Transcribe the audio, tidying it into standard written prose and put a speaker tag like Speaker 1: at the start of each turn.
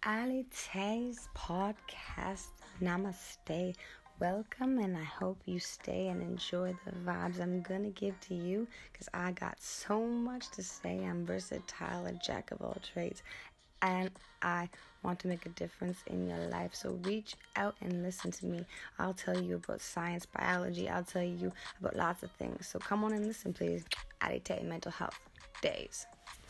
Speaker 1: Ali Tay's podcast. Namaste. Welcome, and I hope you stay and enjoy the vibes I'm gonna give to you because I got so much to say. I'm versatile, a jack of all trades, and I want to make a difference in your life. So reach out and listen to me. I'll tell you about science, biology. I'll tell you about lots of things. So come on and listen, please. Ali Tay Mental Health Days.